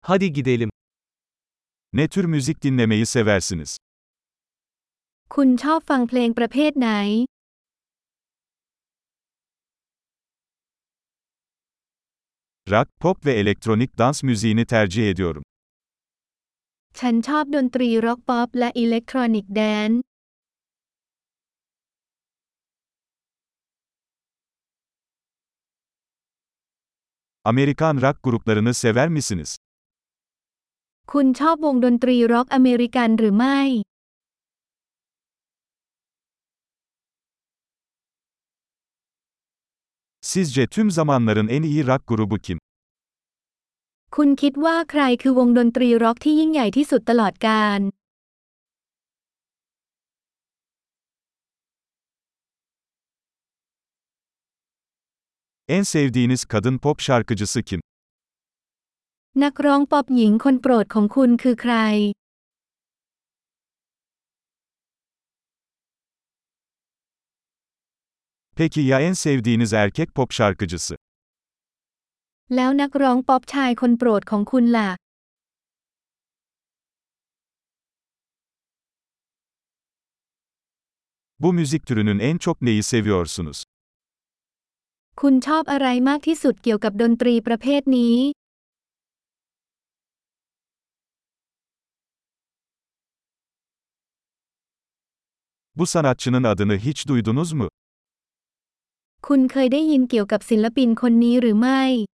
Hadi gidelim. Ne tür müzik dinlemeyi seversiniz? คุณชอบฟังเพลงประเภทไหน Rock, pop ve elektronik dans müziğini tercih ediyorum. ฉันชอบดนตรีร็อกป๊อปและอิเล็กทรอนิกส์แดนซ์ Amerikan rock gruplarını sever misiniz? คุณชอบวงดนตรีร็อกอเมริกันหรือไม่ Sizce tüm zamanların en iyi rock grubu kim? คุณคิดว่าใครคือวงดนตรีร็อกที่ยิ่งใหญ่ที่สุดตลอดกาล En sevdiğiniz kadın pop şarkıcısı kim? นักร้องป๊อปหญิงคนโปรดของคุณคือใคร Peki ya en sevdiğiniz erkek pop şarkıcısı? แล้วนักร้องป๊อปชายคนโปรดของคุณล่ะ Bu müzik türünün en çok neyi seviyorsunuz? คุณชอบอะไรมากที่สุดเกี่ยวกับดนตรีประเภทนี้ Bu sanatçının adını hiç duydunuz mu? คุณเคยได้ยินเกี่ยวกับศิลปินคนนี้หรือไม่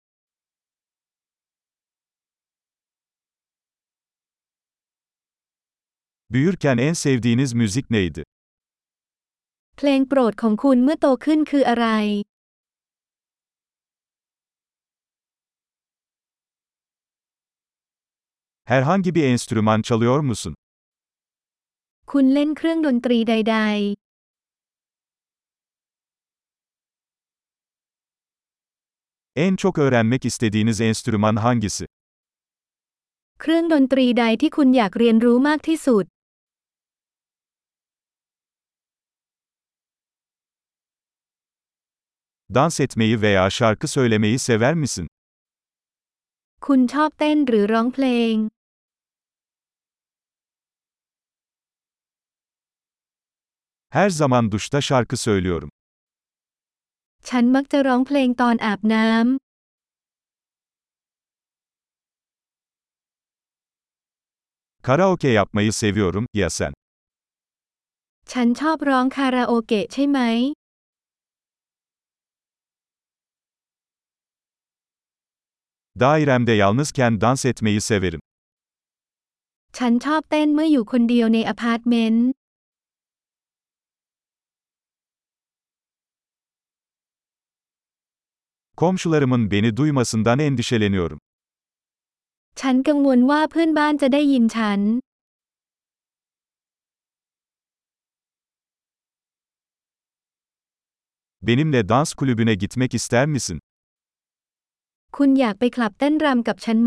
Büyürken en sevdiğiniz müzik neydi? เพลงโปรดของคุณเมื่อโตขึ้นคืออะไร Herhangi bir enstrüman çalıyor musun? คุณเล่นเครื่องดนตรีใด En çok öğrenmek istediğiniz enstrüman hangisi? ๆ เครื่องดนตรีใดที่คุณอยากเรียนรู้มากที่สุด Dans etmeyi veya şarkı söylemeyi sever misin? คุณชอบเต้นหรือร้องเพลง Her zaman duşta şarkı söylüyorum. ฉันมักจะร้องเพลงตอนอาบน้ำ Karaoke yapmayı seviyorum, ya sen? ฉันชอบร้องคาราโอเกะใช่ไหม Dairemde yalnızken dans etmeyi severim. ฉันชอบเต้นเมื่ออยู่คนเดียวในอพาร์ตเมนต์ Komşularımın beni duymasından endişeleniyorum. ฉันกังวลว่าเพื่อนบ้านจะได้ยินฉัน Benimle dans kulübüne gitmek ister misin? คุณอยากไปคลับเต้นรำกับฉันไหม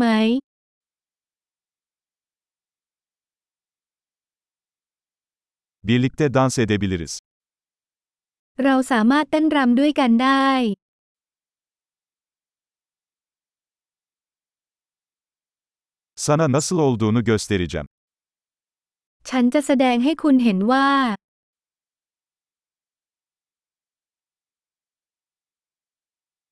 Birlikte dans edebiliriz. เราสามารถเต้นรำด้วยกันได้ Sana nasıl olduğunu göstereceğim. ฉันจะแสดงให้คุณเห็นว่า